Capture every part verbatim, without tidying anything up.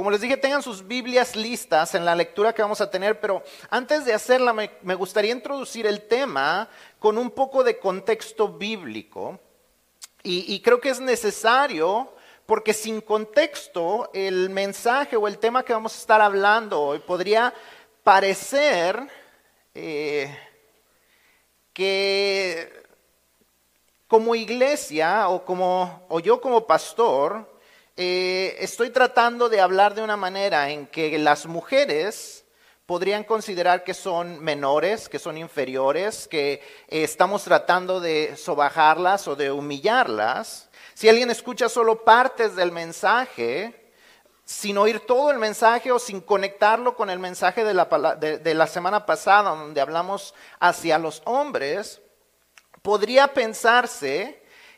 Como les dije, tengan sus Biblias listas en la lectura que vamos a tener, pero antes de hacerla me, me gustaría introducir el tema con un poco de contexto bíblico. Y, y creo que es necesario porque sin contexto el mensaje o el tema que vamos a estar hablando hoy podría parecer eh, que como iglesia o, como, o yo como pastor eh, estoy tratando de hablar de una manera en que las mujeres podrían considerar que son menores, que son inferiores, que eh, estamos tratando de sobajarlas o de humillarlas. Si alguien escucha solo partes del mensaje, sin oír todo el mensaje o sin conectarlo con el mensaje de la, de, de la semana pasada, donde hablamos hacia los hombres, podría pensarse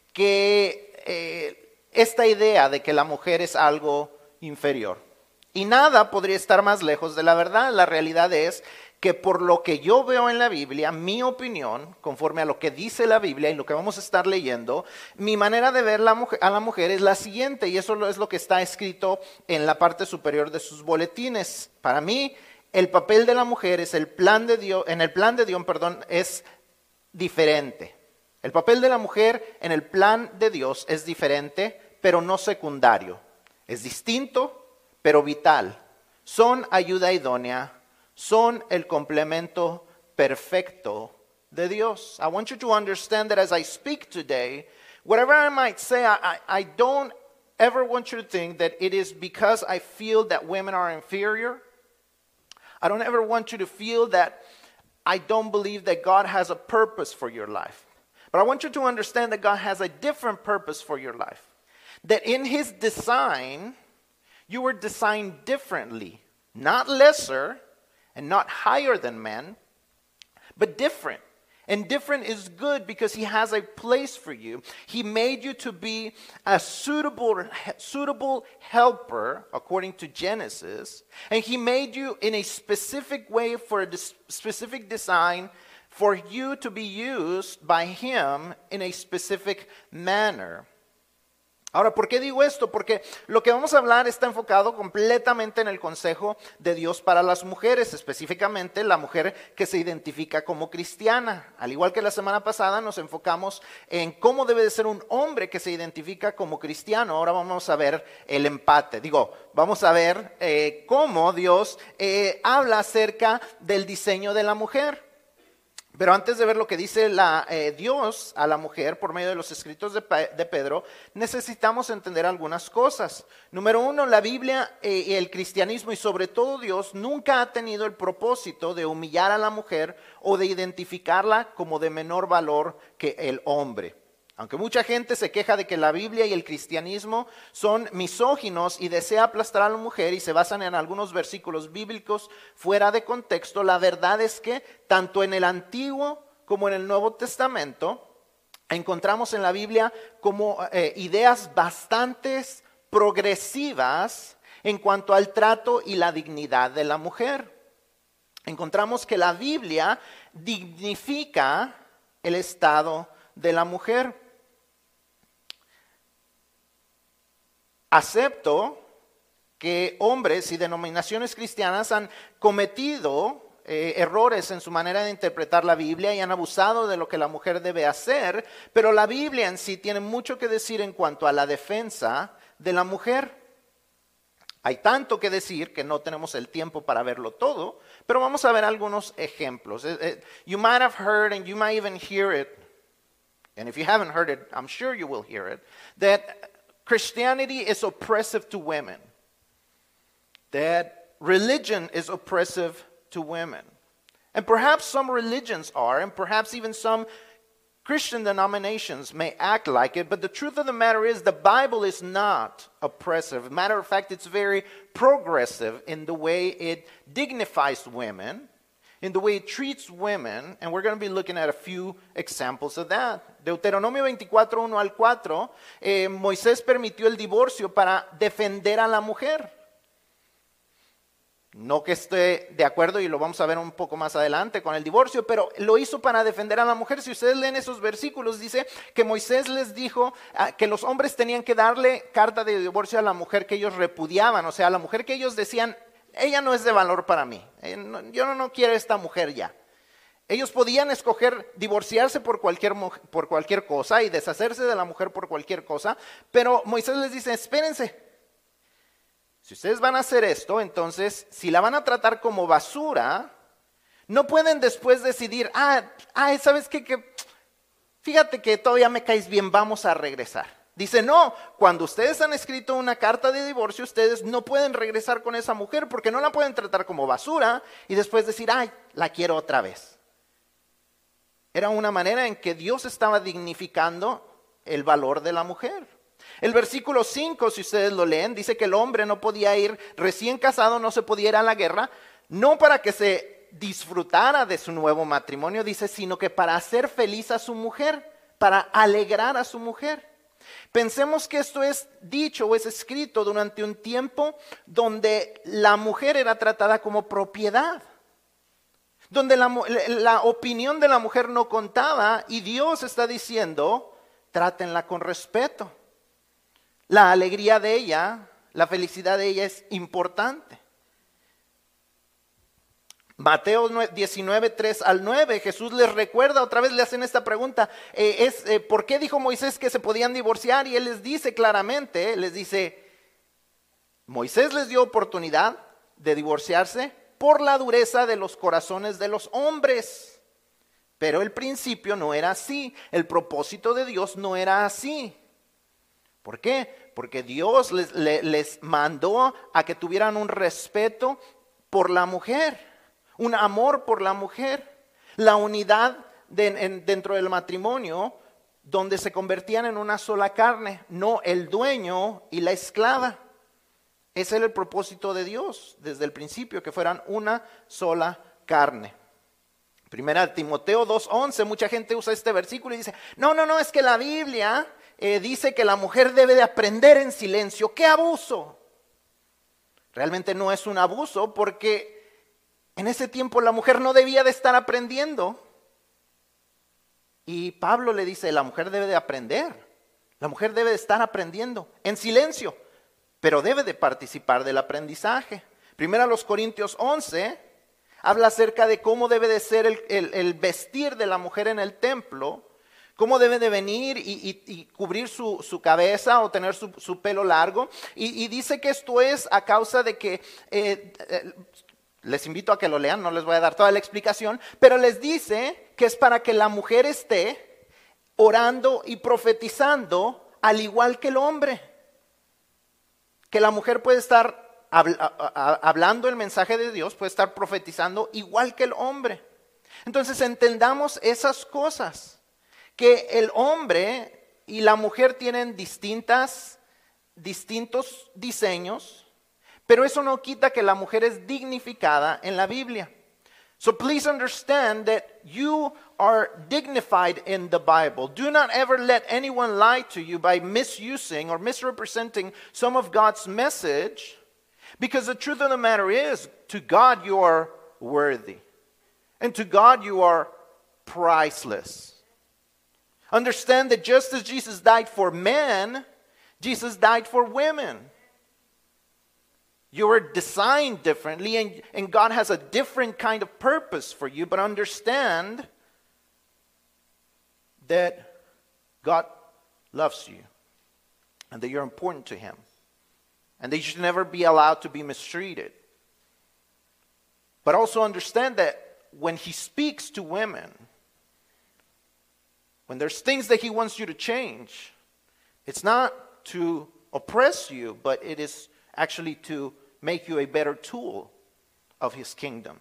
que eh, esta idea de que la mujer es algo inferior. Y nada podría estar más lejos de la verdad. La realidad es que por lo que yo veo en la Biblia, mi opinión, conforme a lo que dice la Biblia y lo que vamos a estar leyendo, mi manera de ver la mujer, a la mujer es la siguiente, y eso es lo que está escrito en la parte superior de sus boletines. Para mí, el papel de la mujer es el plan de Dios, en el plan de Dios, perdón, es diferente. El papel de la mujer en el plan de Dios es diferente, pero no secundario. Es distinto, pero vital. Son ayuda idónea, son el complemento perfecto de Dios. I want you to understand that as I speak today, whatever I might say, I, I, I don't ever want you to think that it is because I feel that women are inferior. I don't ever want you to feel that I don't believe that God has a purpose for your life. But I want you to understand that God has a different purpose for your life. That in His design, you were designed differently, not lesser and not higher than men, but different. And different is good because He has a place for you. He made you to be a suitable, suitable helper, according to Genesis. And He made you in a specific way for a specific design for you to be used by Him in a specific manner. Ahora, ¿por qué digo esto? Porque lo que vamos a hablar está enfocado completamente en el consejo de Dios para las mujeres, específicamente la mujer que se identifica como cristiana. Al igual que la semana pasada nos enfocamos en cómo debe de ser un hombre que se identifica como cristiano. Ahora vamos a ver el empate. Digo, vamos a ver eh, cómo Dios eh, habla acerca del diseño de la mujer. Pero antes de ver lo que dice la, eh, Dios a la mujer por medio de los escritos de, de Pedro, necesitamos entender algunas cosas. Número uno, la Biblia eh, y el cristianismo y sobre todo Dios nunca ha tenido el propósito de humillar a la mujer o de identificarla como de menor valor que el hombre. Aunque mucha gente se queja de que la Biblia y el cristianismo son misóginos y desea aplastar a la mujer y se basan en algunos versículos bíblicos fuera de contexto, la verdad es que tanto en el Antiguo como en el Nuevo Testamento encontramos en la Biblia como eh, ideas bastante progresivas en cuanto al trato y la dignidad de la mujer. Encontramos que la Biblia dignifica el estado de la mujer. Acepto que hombres y denominaciones cristianas han cometido eh, errores en su manera de interpretar la Biblia y han abusado de lo que la mujer debe hacer, pero la Biblia en sí tiene mucho que decir en cuanto a la defensa de la mujer. Hay tanto que decir que no tenemos el tiempo para verlo todo, pero vamos a ver algunos ejemplos. You might have heard and you might even hear it, and if you haven't heard it, I'm sure you will hear it, that Christianity is oppressive to women. That religion is oppressive to women. And perhaps some religions are, and perhaps even some Christian denominations may act like it, but the truth of the matter is the Bible is not oppressive. Matter of fact, it's very progressive in the way it dignifies women, in the way it treats women, and we're going to be looking at a few examples of that. Deuteronomio veinticuatro, uno al cuatro, eh, Moisés permitió el divorcio para defender a la mujer. No que esté de acuerdo, y lo vamos a ver un poco más adelante con el divorcio, pero lo hizo para defender a la mujer. Si ustedes leen esos versículos, dice que Moisés les dijo uh, que los hombres tenían que darle carta de divorcio a la mujer que ellos repudiaban, o sea, a la mujer que ellos decían, ella no es de valor para mí, eh, no, yo no, no quiero esta mujer ya. Ellos podían escoger divorciarse por cualquier, por cualquier cosa y deshacerse de la mujer por cualquier cosa, pero Moisés les dice, espérense. Si ustedes van a hacer esto, entonces, si la van a tratar como basura, no pueden después decidir, ah, ah ¿sabes qué? Que, fíjate que todavía me caes bien, vamos a regresar. Dice, no, cuando ustedes han escrito una carta de divorcio, ustedes no pueden regresar con esa mujer porque no la pueden tratar como basura y después decir, ay, la quiero otra vez. Era una manera en que Dios estaba dignificando el valor de la mujer. El versículo cinco, si ustedes lo leen, dice que el hombre no podía ir, recién casado no se podía ir a la guerra, no para que se disfrutara de su nuevo matrimonio, dice, sino que para hacer feliz a su mujer, para alegrar a su mujer. Pensemos que esto es dicho o es escrito durante un tiempo donde la mujer era tratada como propiedad, donde la, la opinión de la mujer no contaba y Dios está diciendo, trátenla con respeto. La alegría de ella, la felicidad de ella es importante. Mateo diecinueve, tres al nueve, Jesús les recuerda, otra vez le hacen esta pregunta, eh, es, eh, ¿por qué dijo Moisés que se podían divorciar? Y él les dice claramente, les dice, Moisés les dio oportunidad de divorciarse por la dureza de los corazones de los hombres. Pero el principio no era así, el propósito de Dios no era así. ¿Por qué? Porque Dios les, les, les mandó a que tuvieran un respeto por la mujer, un amor por la mujer, la unidad de, en, dentro del matrimonio, donde se convertían en una sola carne, no el dueño y la esclava. Ese era el propósito de Dios desde el principio, que fueran una sola carne. Primera Timoteo dos once, mucha gente usa este versículo y dice, no, no, no, es que la Biblia eh, dice que la mujer debe de aprender en silencio. ¡Qué abuso! Realmente no es un abuso porque en ese tiempo la mujer no debía de estar aprendiendo. Y Pablo le dice, la mujer debe de aprender, la mujer debe de estar aprendiendo en silencio, pero debe de participar del aprendizaje. Primero a los Corintios once habla acerca de cómo debe de ser el, el, el vestir de la mujer en el templo, cómo debe de venir y, y, y cubrir su, su cabeza o tener su, su pelo largo. Y, y dice que esto es a causa de que, eh, eh, les invito a que lo lean, no les voy a dar toda la explicación, pero les dice que es para que la mujer esté orando y profetizando al igual que el hombre. Que la mujer puede estar hablando el mensaje de Dios, puede estar profetizando igual que el hombre. Entonces entendamos esas cosas, que el hombre y la mujer tienen distintas, distintos diseños, pero eso no quita que la mujer es dignificada en la Biblia. So please understand that you are dignified in the Bible. Do not ever let anyone lie to you by misusing or misrepresenting some of God's message, because the truth of the matter is, to God you are worthy, and to God you are priceless. Understand that just as Jesus died for men, Jesus died for women. You were designed differently, and, and God has a different kind of purpose for you, but understand that God loves you and that you're important to Him and that you should never be allowed to be mistreated. But also understand that when He speaks to women, when there's things that He wants you to change, it's not to oppress you, but it is actually to make you a better tool of His kingdom.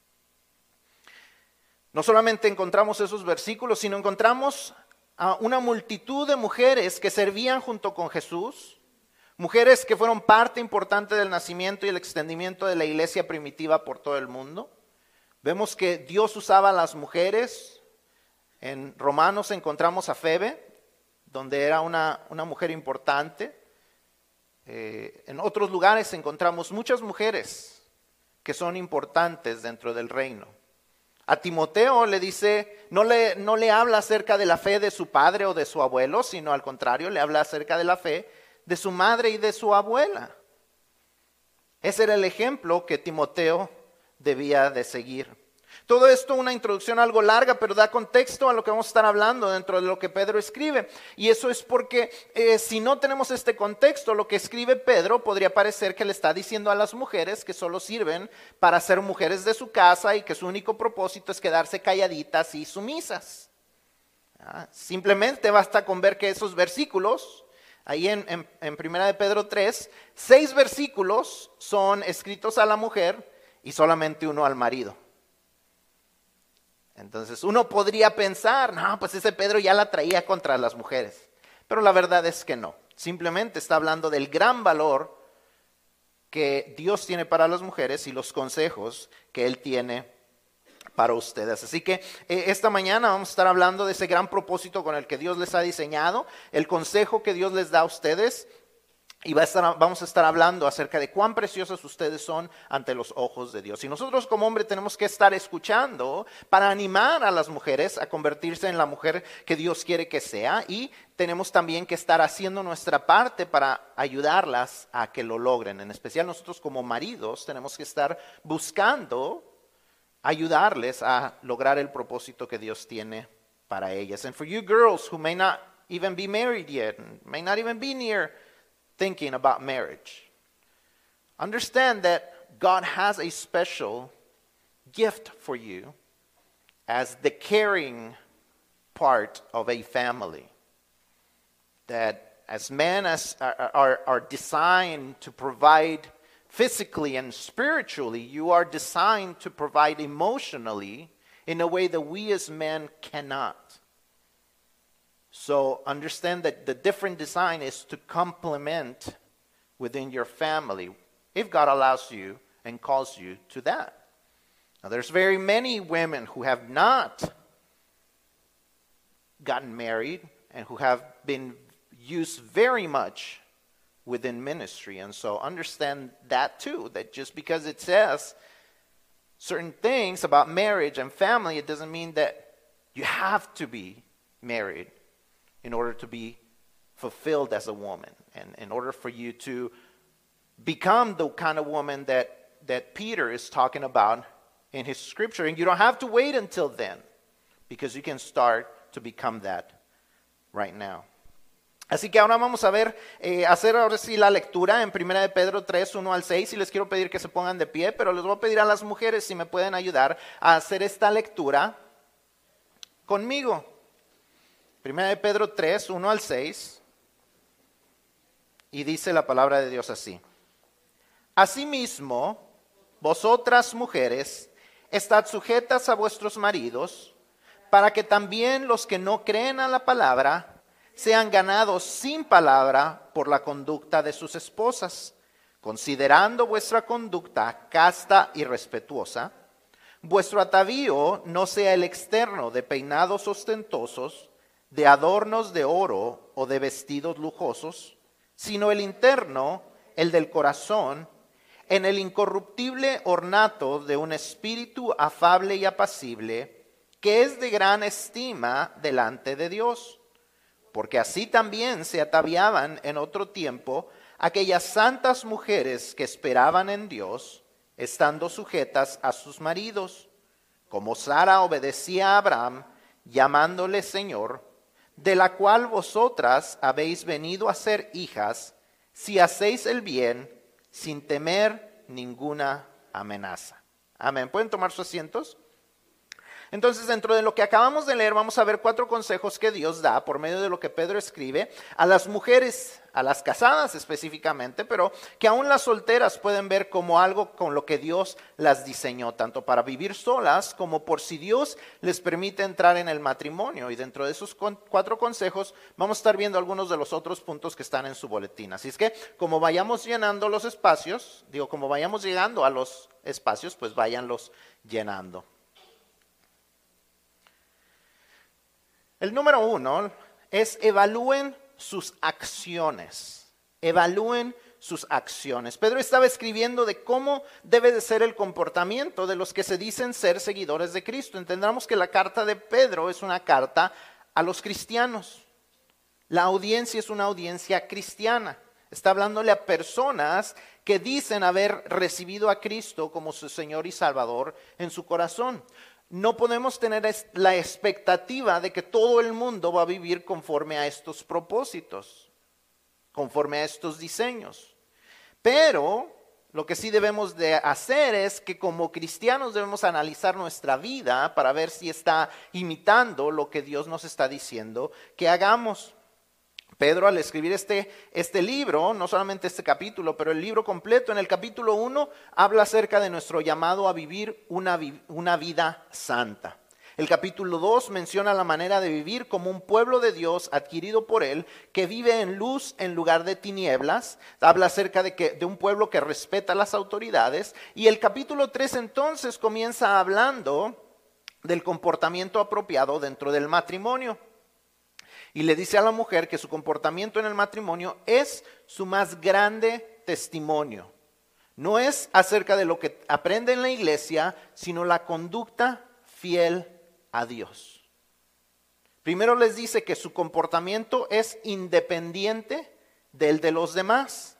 No solamente encontramos esos versículos, sino encontramos a una multitud de mujeres que servían junto con Jesús, mujeres que fueron parte importante del nacimiento y el extendimiento de la iglesia primitiva por todo el mundo. Vemos que Dios usaba a las mujeres. En Romanos encontramos a Febe, donde era una, una mujer importante. Eh, en otros lugares encontramos muchas mujeres que son importantes dentro del reino. A Timoteo le dice, no le, no le habla acerca de la fe de su padre o de su abuelo, sino al contrario, le habla acerca de la fe de su madre y de su abuela. Ese era el ejemplo que Timoteo debía de seguir. Todo esto una introducción algo larga, pero da contexto a lo que vamos a estar hablando dentro de lo que Pedro escribe. Y eso es porque eh, si no tenemos este contexto, lo que escribe Pedro podría parecer que le está diciendo a las mujeres que solo sirven para ser mujeres de su casa y que su único propósito es quedarse calladitas y sumisas. ¿Ah? Simplemente basta con ver que esos versículos, ahí en, en, en primera de Pedro tres, seis versículos son escritos a la mujer y solamente uno al marido. Entonces uno podría pensar, no, pues ese Pedro ya la traía contra las mujeres. Pero la verdad es que no. Simplemente está hablando del gran valor que Dios tiene para las mujeres y los consejos que Él tiene para ustedes. Así que eh, esta mañana vamos a estar hablando de ese gran propósito con el que Dios les ha diseñado, el consejo que Dios les da a ustedes. Y va a estar, vamos a estar hablando acerca de cuán preciosos ustedes son ante los ojos de Dios. Y nosotros como hombre tenemos que estar escuchando para animar a las mujeres a convertirse en la mujer que Dios quiere que sea. Y tenemos también que estar haciendo nuestra parte para ayudarlas a que lo logren. En especial nosotros como maridos tenemos que estar buscando ayudarles a lograr el propósito que Dios tiene para ellas. And for you girls who may not even be married yet, may not even be near thinking about marriage, understand that God has a special gift for you as the caring part of a family. That as men as are, are, are designed to provide physically and spiritually, you are designed to provide emotionally in a way that we as men cannot. So understand that the different design is to complement within your family, if God allows you and calls you to that. Now there's very many women who have not gotten married and who have been used very much within ministry. And so understand that too, that just because it says certain things about marriage and family, it doesn't mean that you have to be married in order to be fulfilled as a woman, and in order for you to become the kind of woman that, that Peter is talking about in his scripture. And you don't have to wait until then, because you can start to become that right now. Así que ahora vamos a ver, eh, hacer ahora sí la lectura en primera de Pedro tres, uno al seis, y les quiero pedir que se pongan de pie, pero les voy a pedir a las mujeres si me pueden ayudar a hacer esta lectura conmigo. Primera de Pedro tres, uno al seis, y dice la palabra de Dios así. Asimismo, vosotras mujeres, estad sujetas a vuestros maridos, para que también los que no creen a la palabra sean ganados sin palabra por la conducta de sus esposas, considerando vuestra conducta casta y respetuosa. Vuestro atavío no sea el externo de peinados ostentosos, de adornos de oro o de vestidos lujosos, sino el interno, el del corazón, en el incorruptible ornato de un espíritu afable y apacible, que es de gran estima delante de Dios. Porque así también se ataviaban en otro tiempo aquellas santas mujeres que esperaban en Dios, estando sujetas a sus maridos, como Sara obedecía a Abraham, llamándole Señor, de la cual vosotras habéis venido a ser hijas, si hacéis el bien, sin temer ninguna amenaza. Amén. ¿Pueden tomar sus asientos? Entonces, dentro de lo que acabamos de leer, vamos a ver cuatro consejos que Dios da por medio de lo que Pedro escribe a las mujeres, a las casadas específicamente, pero que aún las solteras pueden ver como algo con lo que Dios las diseñó, tanto para vivir solas como por si Dios les permite entrar en el matrimonio. Y dentro de esos cuatro consejos vamos a estar viendo algunos de los otros puntos que están en su boletín. Así es que como vayamos llenando los espacios, digo, como vayamos llegando a los espacios, pues váyanlos llenando. El número uno es evalúen sus acciones. Evalúen sus acciones. Pedro estaba escribiendo de cómo debe de ser el comportamiento de los que se dicen ser seguidores de Cristo. Entendamos que la carta de Pedro es una carta a los cristianos. La audiencia es una audiencia cristiana. Está hablándole a personas que dicen haber recibido a Cristo como su Señor y Salvador en su corazón. No podemos tener la expectativa de que todo el mundo va a vivir conforme a estos propósitos, conforme a estos diseños. Pero lo que sí debemos de hacer es que como cristianos debemos analizar nuestra vida para ver si está imitando lo que Dios nos está diciendo que hagamos. Pedro, al escribir este, este libro, no solamente este capítulo, pero el libro completo, en el capítulo uno, habla acerca de nuestro llamado a vivir una, una vida santa. El capítulo dos menciona la manera de vivir como un pueblo de Dios adquirido por Él, que vive en luz en lugar de tinieblas. Habla acerca de, que, de un pueblo que respeta las autoridades. Y el capítulo tres entonces comienza hablando del comportamiento apropiado dentro del matrimonio. Y le dice a la mujer que su comportamiento en el matrimonio es su más grande testimonio. No es acerca de lo que aprende en la iglesia, sino la conducta fiel a Dios. Primero les dice que su comportamiento es independiente del de los demás.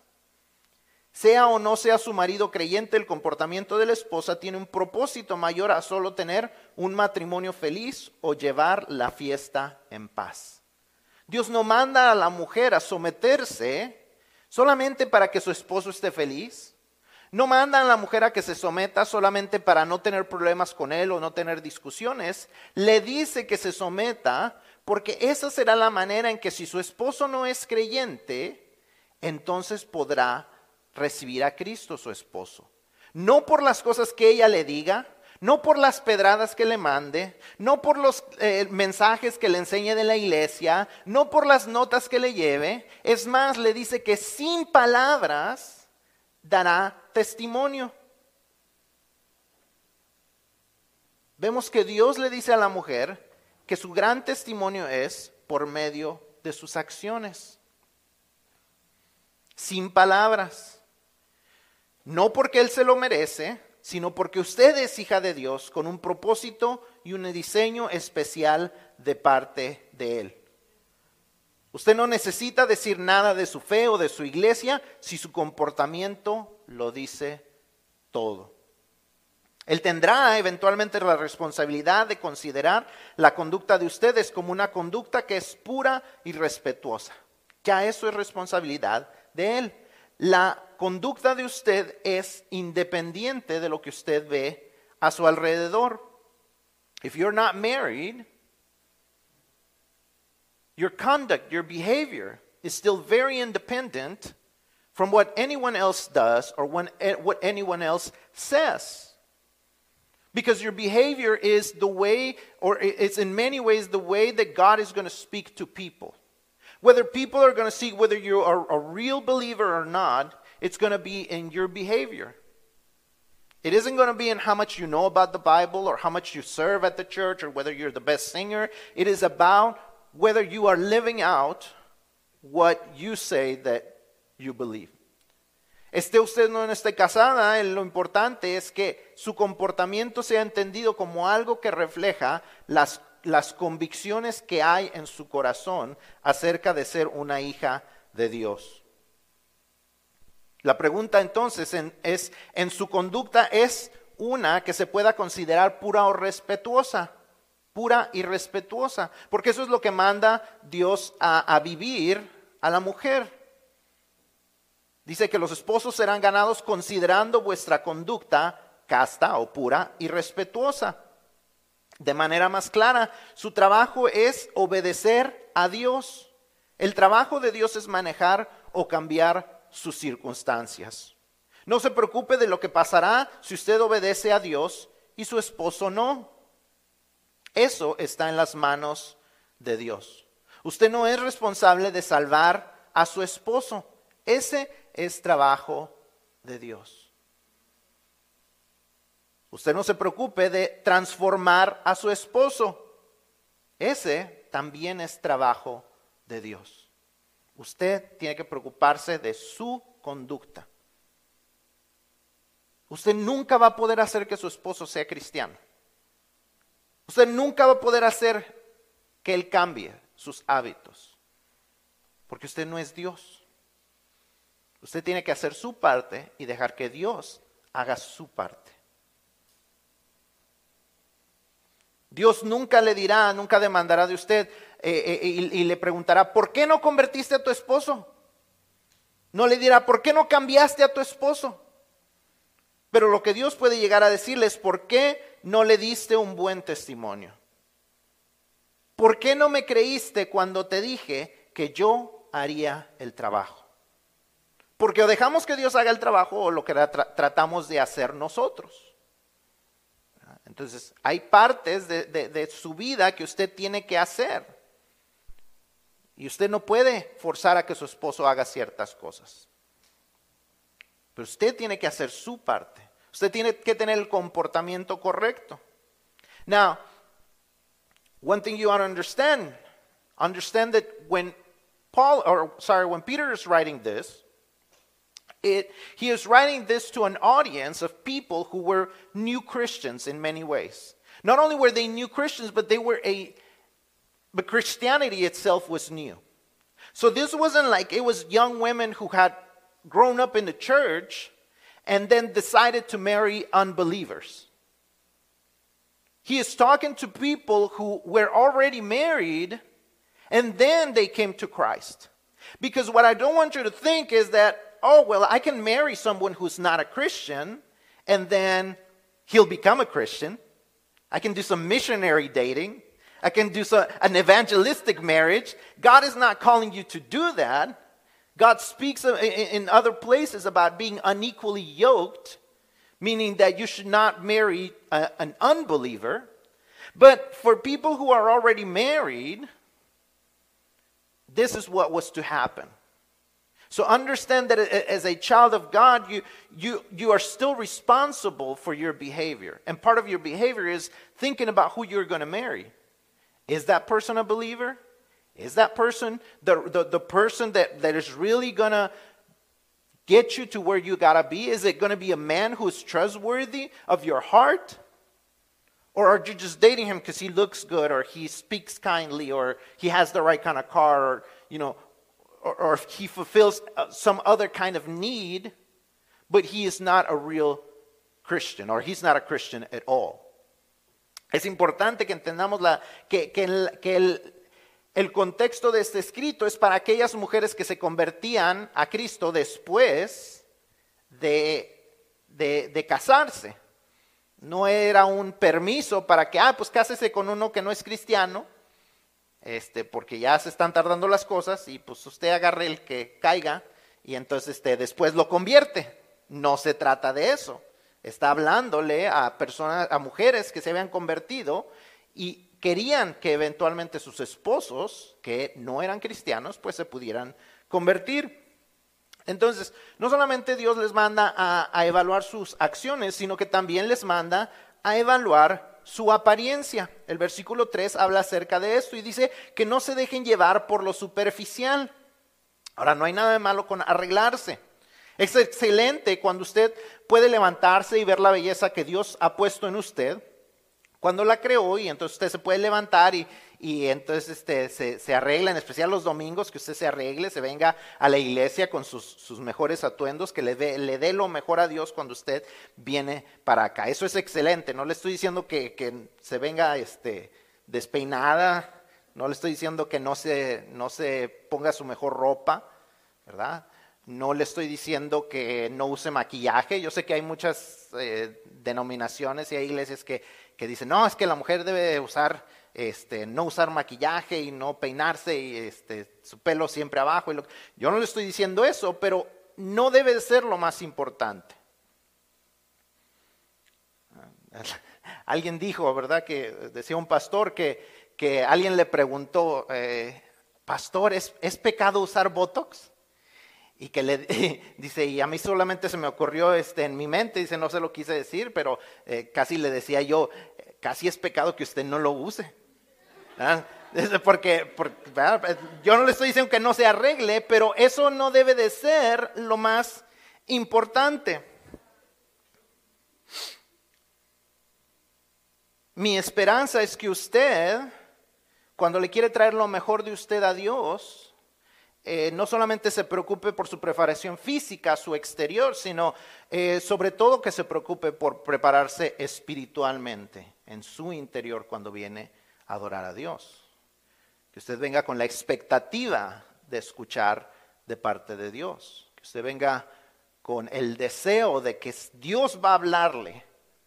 Sea o no sea su marido creyente, el comportamiento de la esposa tiene un propósito mayor a solo tener un matrimonio feliz o llevar la fiesta en paz. Dios no manda a la mujer a someterse solamente para que su esposo esté feliz. No manda a la mujer a que se someta solamente para no tener problemas con él o no tener discusiones. Le dice que se someta porque esa será la manera en que si su esposo no es creyente, entonces podrá recibir a Cristo su esposo. No por las cosas que ella le diga, no por las pedradas que le mande, no por los eh, mensajes que le enseñe de la iglesia, no por las notas que le lleve. Es más, le dice que sin palabras dará testimonio. Vemos que Dios le dice a la mujer que su gran testimonio es por medio de sus acciones. Sin palabras. No porque Él se lo merece, sino porque usted es hija de Dios con un propósito y un diseño especial de parte de Él. Usted no necesita decir nada de su fe o de su iglesia si su comportamiento lo dice todo. Él tendrá eventualmente la responsabilidad de considerar la conducta de ustedes como una conducta que es pura y respetuosa. Ya eso es responsabilidad de Él. La conducta de usted es independiente de lo que usted ve a su alrededor. If you're not married, your conduct, your behavior is still very independent from what anyone else does or when, what anyone else says. Because your behavior is the way, or it's in many ways the way that God is going to speak to people. Whether people are going to see whether you are a real believer or not, it's going to be in your behavior. It isn't going to be in how much you know about the Bible or how much you serve at the church or whether you're the best singer. It is about whether you are living out what you say that you believe. Esté usted no esté casada, lo importante es que su comportamiento sea entendido como algo que refleja las las convicciones que hay en su corazón acerca de ser una hija de Dios. La pregunta entonces en, es, ¿en su conducta es una que se pueda considerar pura o respetuosa? Pura y respetuosa, porque eso es lo que manda Dios a, a vivir a la mujer. Dice que los esposos serán ganados considerando vuestra conducta casta o pura y respetuosa. De manera más clara, su trabajo es obedecer a Dios. El trabajo de Dios es manejar o cambiar sus circunstancias. No se preocupe de lo que pasará si usted obedece a Dios y su esposo no. Eso está en las manos de Dios. Usted no es responsable de salvar a su esposo. Ese es trabajo de Dios. Usted no se preocupe de transformar a su esposo. Ese también es trabajo de Dios. Usted tiene que preocuparse de su conducta. Usted nunca va a poder hacer que su esposo sea cristiano. Usted nunca va a poder hacer que él cambie sus hábitos, porque usted no es Dios. Usted tiene que hacer su parte y dejar que Dios haga su parte. Dios nunca le dirá, nunca demandará de usted eh, eh, y, y le preguntará, ¿por qué no convertiste a tu esposo? No le dirá, ¿por qué no cambiaste a tu esposo? Pero lo que Dios puede llegar a decirle es, ¿por qué no le diste un buen testimonio? ¿Por qué no me creíste cuando te dije que yo haría el trabajo? Porque o dejamos que Dios haga el trabajo o lo que tra- tratamos de hacer nosotros. Entonces, hay partes de, de, de su vida que usted tiene que hacer. Y usted no puede forzar a que su esposo haga ciertas cosas. Pero usted tiene que hacer su parte. Usted tiene que tener el comportamiento correcto. Now, one thing you ought to understand, understand that when Paul, or sorry, when Peter is writing this, It, he is writing this to an audience of people who were new Christians in many ways. Not only were they new Christians, but they were a, but Christianity itself was new. So this wasn't like it was young women who had grown up in the church and then decided to marry unbelievers. He is talking to people who were already married and then they came to Christ. Because what I don't want you to think is that, oh, well, I can marry someone who's not a Christian, and then he'll become a Christian. I can do some missionary dating. I can do some, an evangelistic marriage. God is not calling you to do that. God speaks in, in other places about being unequally yoked, meaning that you should not marry a, an unbeliever. But for people who are already married, this is what was to happen. So understand that as a child of God, you, you, you are still responsible for your behavior. And part of your behavior is thinking about who you're going to marry. Is that person a believer? Is that person the, the, the person that, that is really going to get you to where you got to be? Is it going to be a man who's trustworthy of your heart? Or are you just dating him because he looks good, or he speaks kindly, or he has the right kind of car, or, you know, Or, or if he fulfills some other kind of need, but he is not a real Christian, or he's not a Christian at all. Es importante que entendamos la, que, que, el, que el, el contexto de este escrito es para aquellas mujeres que se convertían a Cristo después de, de, de casarse. No era un permiso para que, ah, pues cásese con uno que no es cristiano. Este, porque ya se están tardando las cosas y pues usted agarre el que caiga y entonces este, después lo convierte. No se trata de eso. Está hablándole a personas, a mujeres que se habían convertido y querían que eventualmente sus esposos, que no eran cristianos, pues se pudieran convertir. Entonces, no solamente Dios les manda a, a evaluar sus acciones, sino que también les manda a evaluar su apariencia. El versículo tres habla acerca de esto y dice que no se dejen llevar por lo superficial. Ahora, no hay nada de malo con arreglarse. Es excelente cuando usted puede levantarse y ver la belleza que Dios ha puesto en usted, cuando la creó, y entonces usted se puede levantar y, y entonces este, se, se arregla, en especial los domingos, que usted se arregle, se venga a la iglesia con sus, sus mejores atuendos, que le dé, le dé lo mejor a Dios cuando usted viene para acá. Eso es excelente. No le estoy diciendo que, que se venga este, despeinada, no le estoy diciendo que no se, no se ponga su mejor ropa, ¿verdad? No le estoy diciendo que no use maquillaje. Yo sé que hay muchas eh, denominaciones y hay iglesias que, que dicen, no, es que la mujer debe usar, este, no usar maquillaje y no peinarse y este, su pelo siempre abajo. Y lo, yo no le estoy diciendo eso, pero no debe ser lo más importante. Alguien dijo, ¿verdad? Que decía un pastor que, que alguien le preguntó, eh, pastor, ¿es, ¿es pecado usar Botox? Y que le dice, y a mí solamente se me ocurrió este, en mi mente, dice, no se lo quise decir, pero eh, casi le decía yo, casi es pecado que usted no lo use. ¿Ah? Porque, porque ¿verdad? Yo no le estoy diciendo que no se arregle, pero eso no debe de ser lo más importante. Mi esperanza es que usted, cuando le quiere traer lo mejor de usted a Dios, eh, no solamente se preocupe por su preparación física, su exterior, sino eh, sobre todo que se preocupe por prepararse espiritualmente en su interior cuando viene a adorar a Dios. Que usted venga con la expectativa de escuchar de parte de Dios. Que usted venga con el deseo de que Dios va a hablarle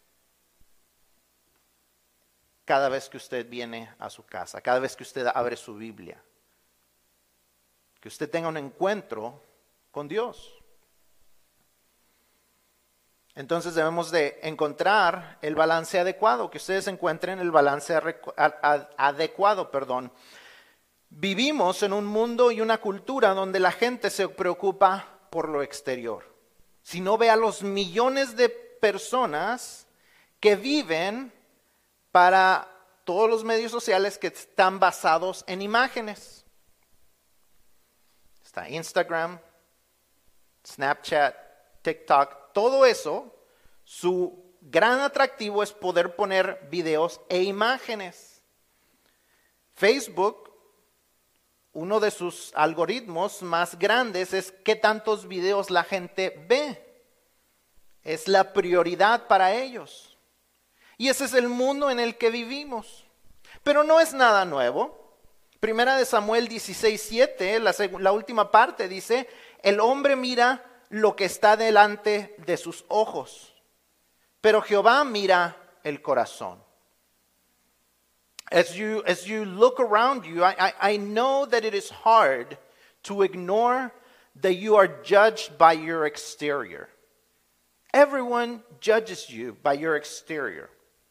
cada vez que usted viene a su casa, cada vez que usted abre su Biblia. Que usted tenga un encuentro con Dios. Entonces debemos de encontrar el balance adecuado, que ustedes encuentren el balance adecuado, perdón. Vivimos en un mundo y una cultura donde la gente se preocupa por lo exterior. Si no ve a los millones de personas que viven para todos los medios sociales que están basados en imágenes. Está Instagram, Snapchat, TikTok, todo eso, su gran atractivo es poder poner videos e imágenes. Facebook, uno de sus algoritmos más grandes es qué tantos videos la gente ve. Es la prioridad para ellos. Y ese es el mundo en el que vivimos. Pero no es nada nuevo. Primera de Samuel dieciséis siete, la, la última parte dice, el hombre mira lo que está delante de sus ojos, pero Jehová mira el corazón. As you, as you look around you, I, I, I know that it is hard to ignore that you are judged by your exterior. Everyone judges you by your exterior.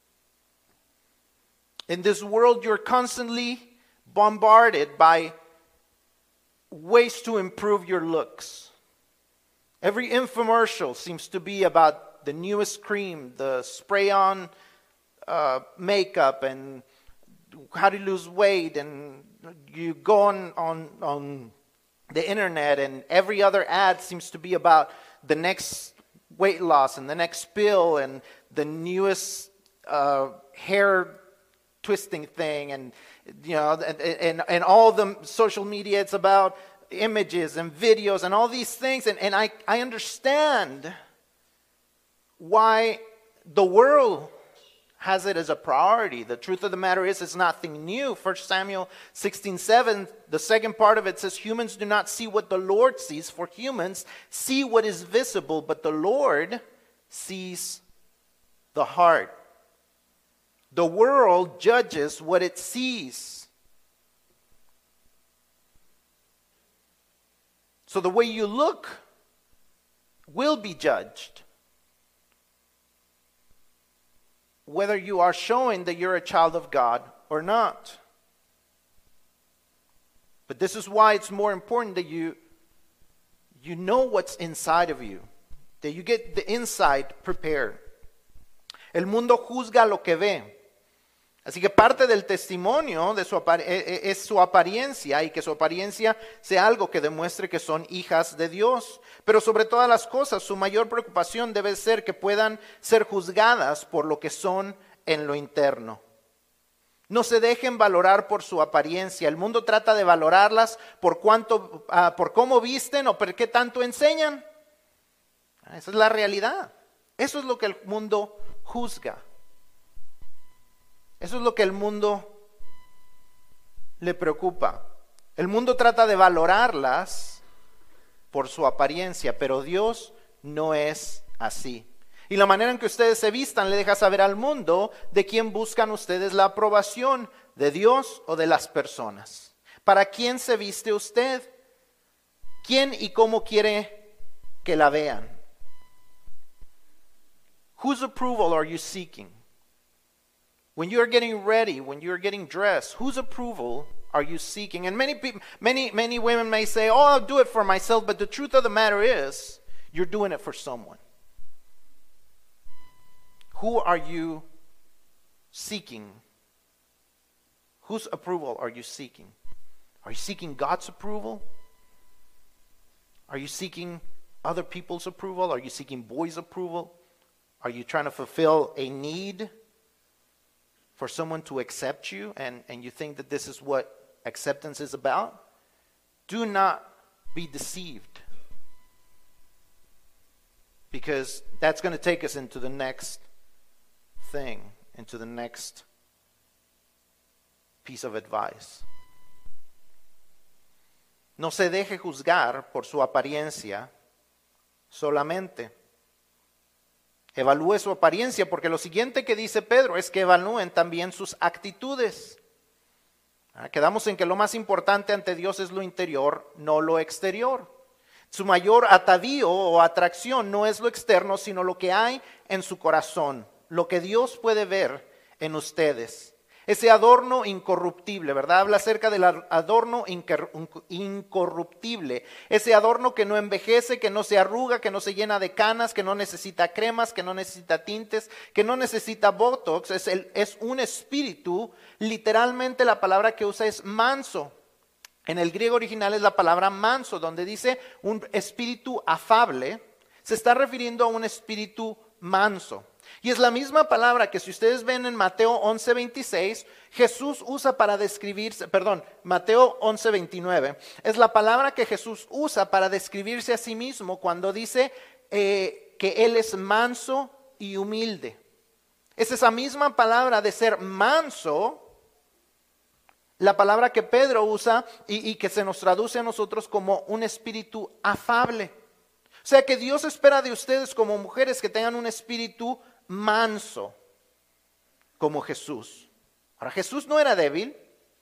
In this world, you're constantly bombarded by ways to improve your looks. Every infomercial seems to be about the newest cream, the spray-on uh, makeup, and how to lose weight. And you go on, on, on the internet, and every other ad seems to be about the next weight loss and the next pill and the newest uh, hair twisting thing, and you know, and, and and all the social media, it's about images and videos and all these things, and, and I, I understand why the world has it as a priority. The truth of the matter is, it's nothing new. First Samuel sixteen seven, the second part of it says, humans do not see what the Lord sees, for humans see what is visible, but the Lord sees the heart. The world judges what it sees. So the way you look will be judged. Whether you are showing that you're a child of God or not. But this is why it's more important that you, you know what's inside of you. That you get the inside prepared. El mundo juzga lo que ve. Así que parte del testimonio de su apar- es su apariencia, y que su apariencia sea algo que demuestre que son hijas de Dios. Pero sobre todas las cosas, su mayor preocupación debe ser que puedan ser juzgadas por lo que son en lo interno. No se dejen valorar por su apariencia. El mundo trata de valorarlas por cuánto, uh, por cómo visten o por qué tanto enseñan. Esa es la realidad. Eso es lo que el mundo juzga. Eso es lo que el mundo le preocupa. El mundo trata de valorarlas por su apariencia, pero Dios no es así. Y la manera en que ustedes se vistan le deja saber al mundo de quién buscan ustedes la aprobación, de Dios o de las personas. ¿Para quién se viste usted? ¿Quién y cómo quiere que la vean? Whose approval are you seeking? When you're getting ready, when you're getting dressed, whose approval are you seeking? And many people, many, many women may say, oh, I'll do it for myself. But the truth of the matter is, you're doing it for someone. Who are you seeking? Whose approval are you seeking? Are you seeking God's approval? Are you seeking other people's approval? Are you seeking boys' approval? Are you trying to fulfill a need for someone to accept you, and, and you think that this is what acceptance is about? Do not be deceived, because that's going to take us into the next thing, into the next piece of advice. No se deje juzgar por su apariencia solamente. Evalúe su apariencia, porque lo siguiente que dice Pedro es que evalúen también sus actitudes. Quedamos en que lo más importante ante Dios es lo interior, no lo exterior. Su mayor atavío o atracción no es lo externo, sino lo que hay en su corazón, lo que Dios puede ver en ustedes. Ese adorno incorruptible, ¿verdad? Habla acerca del adorno incorruptible. Ese adorno que no envejece, que no se arruga, que no se llena de canas, que no necesita cremas, que no necesita tintes, que no necesita botox. Es, el, es un espíritu, literalmente la palabra que usa es manso. En el griego original es la palabra manso, donde dice un espíritu afable. Se está refiriendo a un espíritu manso. Y es la misma palabra que si ustedes ven en Mateo once veintiséis, Jesús usa para describirse, perdón, Mateo once veintinueve, es la palabra que Jesús usa para describirse a sí mismo cuando dice eh, que Él es manso y humilde. Es esa misma palabra de ser manso, la palabra que Pedro usa y, y que se nos traduce a nosotros como un espíritu afable. O sea que Dios espera de ustedes como mujeres que tengan un espíritu manso, como Jesús. Ahora, Jesús no era débil.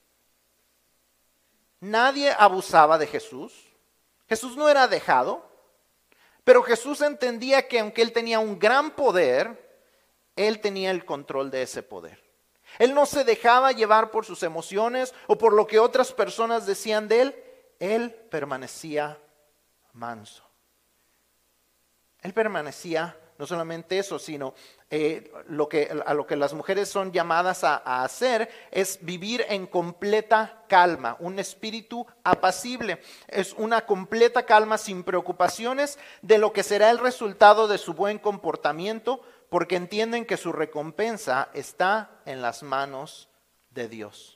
Nadie abusaba de Jesús. Jesús no era dejado. Pero Jesús entendía que aunque Él tenía un gran poder, Él tenía el control de ese poder. Él no se dejaba llevar por sus emociones o por lo que otras personas decían de Él. Él permanecía manso. Él permanecía, no solamente eso, sino eh, lo que, a lo que las mujeres son llamadas a, a hacer es vivir en completa calma, un espíritu apacible. Es una completa calma sin preocupaciones de lo que será el resultado de su buen comportamiento, porque entienden que su recompensa está en las manos de Dios.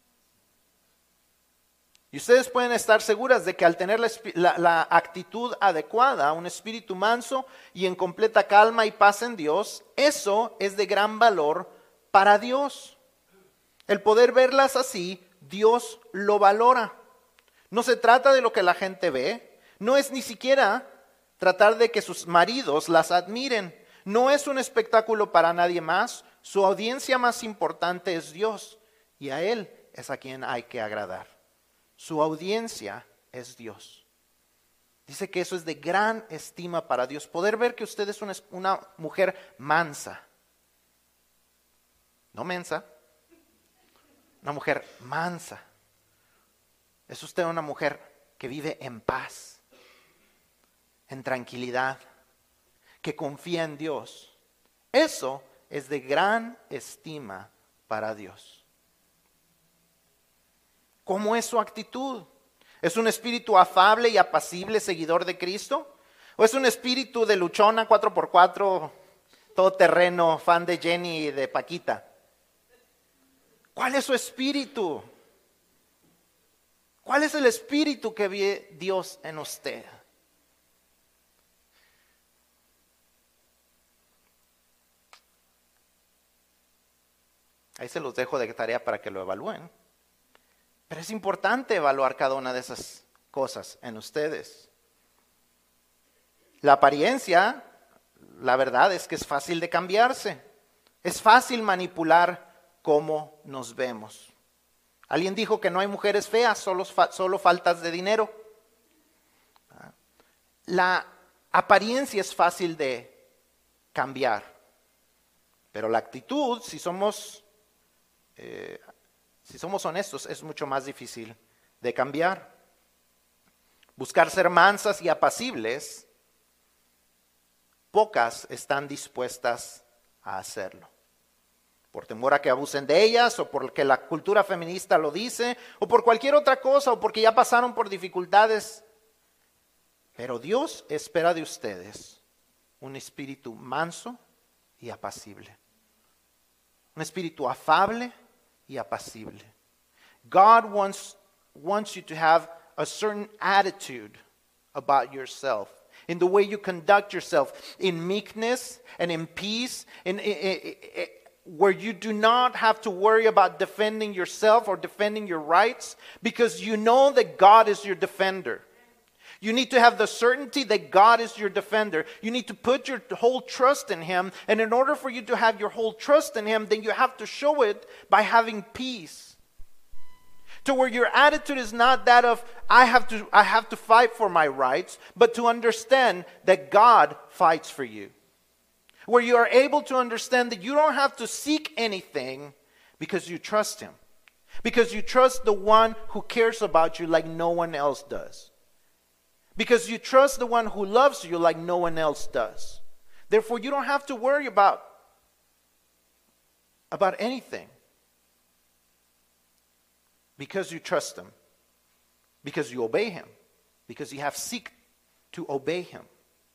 Y ustedes pueden estar seguras de que al tener la, la, la actitud adecuada, un espíritu manso y en completa calma y paz en Dios, eso es de gran valor para Dios. El poder verlas así, Dios lo valora. No se trata de lo que la gente ve, no es ni siquiera tratar de que sus maridos las admiren. No es un espectáculo para nadie más, su audiencia más importante es Dios y a Él es a quien hay que agradar. Su audiencia es Dios. Dice que eso es de gran estima para Dios. Poder ver que usted es una, una mujer mansa. No mensa. Una mujer mansa. Es usted una mujer que vive en paz, en tranquilidad, que confía en Dios. Eso es de gran estima para Dios. ¿Cómo es su actitud? ¿Es un espíritu afable y apacible, seguidor de Cristo? ¿O es un espíritu de luchona cuatro por cuatro, todoterreno, fan de Jenny y de Paquita? ¿Cuál es su espíritu? ¿Cuál es el espíritu que ve Dios en usted? Ahí se los dejo de tarea para que lo evalúen. Pero es importante evaluar cada una de esas cosas en ustedes. La apariencia, la verdad es que es fácil de cambiarse. Es fácil manipular cómo nos vemos. Alguien dijo que no hay mujeres feas, solo, solo faltas de dinero. La apariencia es fácil de cambiar. Pero la actitud, si somos... Eh, Si somos honestos, es mucho más difícil de cambiar. Buscar ser mansas y apacibles, pocas están dispuestas a hacerlo. por temor a que abusen de ellas, o porque la cultura feminista lo dice, o por cualquier otra cosa, o porque ya pasaron por dificultades. Pero Dios espera de ustedes un espíritu manso y apacible. Un espíritu afable y apacible. God wants, wants you to have a certain attitude about yourself, in the way you conduct yourself, in meekness and in peace, in, in, in, in, where you do not have to worry about defending yourself or defending your rights, because you know that God is your defender. You need to have the certainty that God is your defender. You need to put your whole trust in Him. And in order for you to have your whole trust in Him, then you have to show it by having peace. To where your attitude is not that of, I have to, I have to fight for my rights, but to understand that God fights for you. Where you are able to understand that you don't have to seek anything because you trust Him. Because you trust the one who cares about you like no one else does. Because you trust the one who loves you like no one else does. Therefore, you don't have to worry about, about anything. Because you trust Him. Because you obey Him. Because you have seek to obey Him.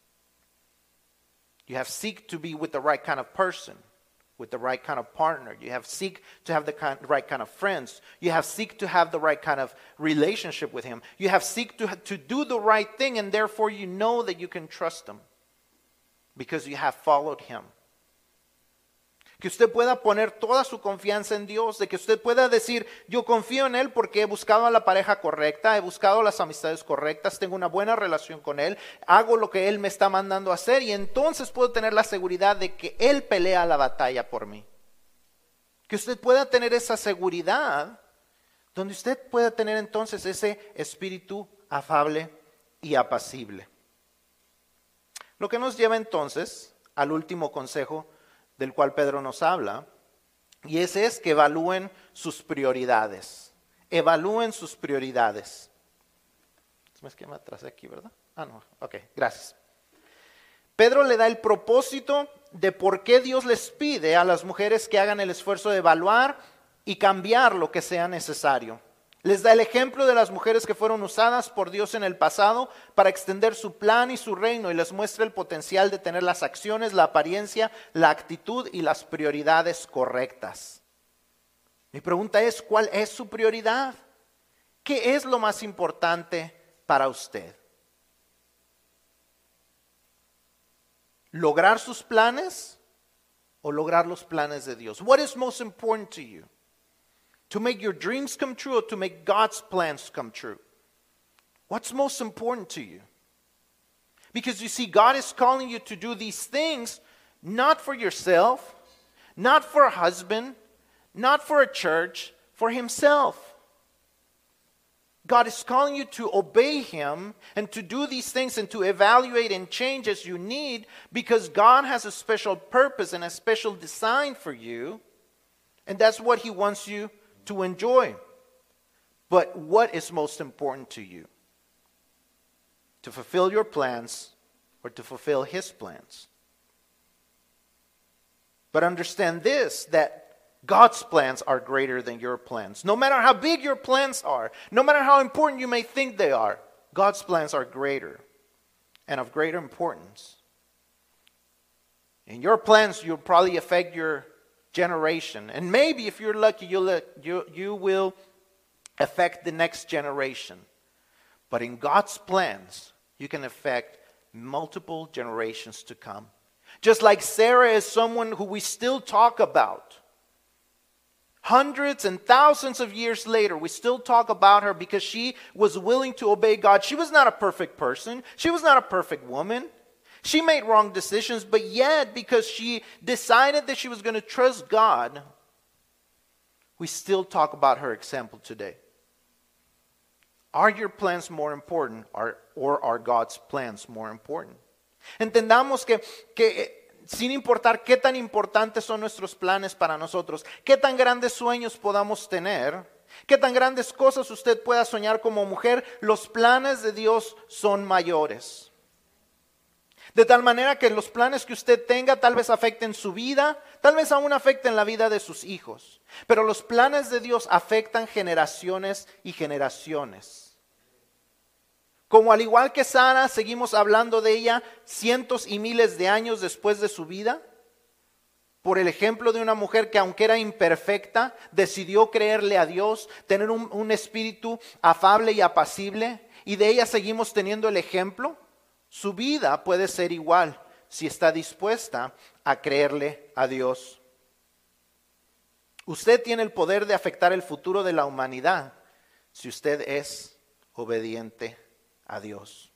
You have seek to be with the right kind of person, with the right kind of partner. You have seek to have the kind, right kind of friends. You have seek to have the right kind of relationship with Him. You have seek to, to do the right thing, and therefore you know that you can trust Him because you have followed Him. Que usted pueda poner toda su confianza en Dios, de que usted pueda decir, yo confío en Él porque he buscado a la pareja correcta, he buscado las amistades correctas, tengo una buena relación con Él, hago lo que Él me está mandando a hacer y entonces puedo tener la seguridad de que Él pelea la batalla por mí. Que usted pueda tener esa seguridad, donde usted pueda tener entonces ese espíritu afable y apacible. Lo que nos lleva entonces al último consejo del cual Pedro nos habla, y ese es que evalúen sus prioridades. Evalúen sus prioridades. Es que me atrasé aquí, ¿verdad? Ah, no, ok, gracias. Pedro le da el propósito de por qué Dios les pide a las mujeres que hagan el esfuerzo de evaluar y cambiar lo que sea necesario. Les da el ejemplo de las mujeres que fueron usadas por Dios en el pasado para extender su plan y su reino y les muestra el potencial de tener las acciones, la apariencia, la actitud y las prioridades correctas. Mi pregunta es, ¿cuál es su prioridad? ¿Qué es lo más importante para usted? ¿Lograr sus planes o lograr los planes de Dios? What is most important to you? To make your dreams come true or to make God's plans come true? What's most important to you? Because you see, God is calling you to do these things not for yourself, not for a husband, not for a church, for Himself. God is calling you to obey Him and to do these things and to evaluate and change as you need because God has a special purpose and a special design for you, and that's what He wants you to enjoy. But what is most important to you? To fulfill your plans or to fulfill His plans? But understand this, that God's plans are greater than your plans. No matter how big your plans are, no matter how important you may think they are, God's plans are greater and of greater importance. In your plans, you'll probably affect your generation. And maybe if you're lucky, you'll, you, you will affect the next generation. But in God's plans, you can affect multiple generations to come. Just like Sarah is someone who we still talk about. Hundreds and thousands of years later, we still talk about her because she was willing to obey God. She was not a perfect person. She was not a perfect woman. She made wrong decisions, but yet because she decided that she was going to trust God, we still talk about her example today. Are your plans more important or, or are God's plans more important? Entendamos que, que sin importar qué tan importantes son nuestros planes para nosotros, qué tan grandes sueños podamos tener, qué tan grandes cosas usted pueda soñar como mujer, los planes de Dios son mayores. De tal manera que los planes que usted tenga tal vez afecten su vida, tal vez aún afecten la vida de sus hijos. Pero los planes de Dios afectan generaciones y generaciones. Como al igual que Sara, seguimos hablando de ella cientos y miles de años después de su vida. Por el ejemplo de una mujer que, aunque era imperfecta, decidió creerle a Dios, tener un, un espíritu afable y apacible. Y de ella seguimos teniendo el ejemplo. Su vida puede ser igual si está dispuesta a creerle a Dios. Usted tiene el poder de afectar el futuro de la humanidad si usted es obediente a Dios.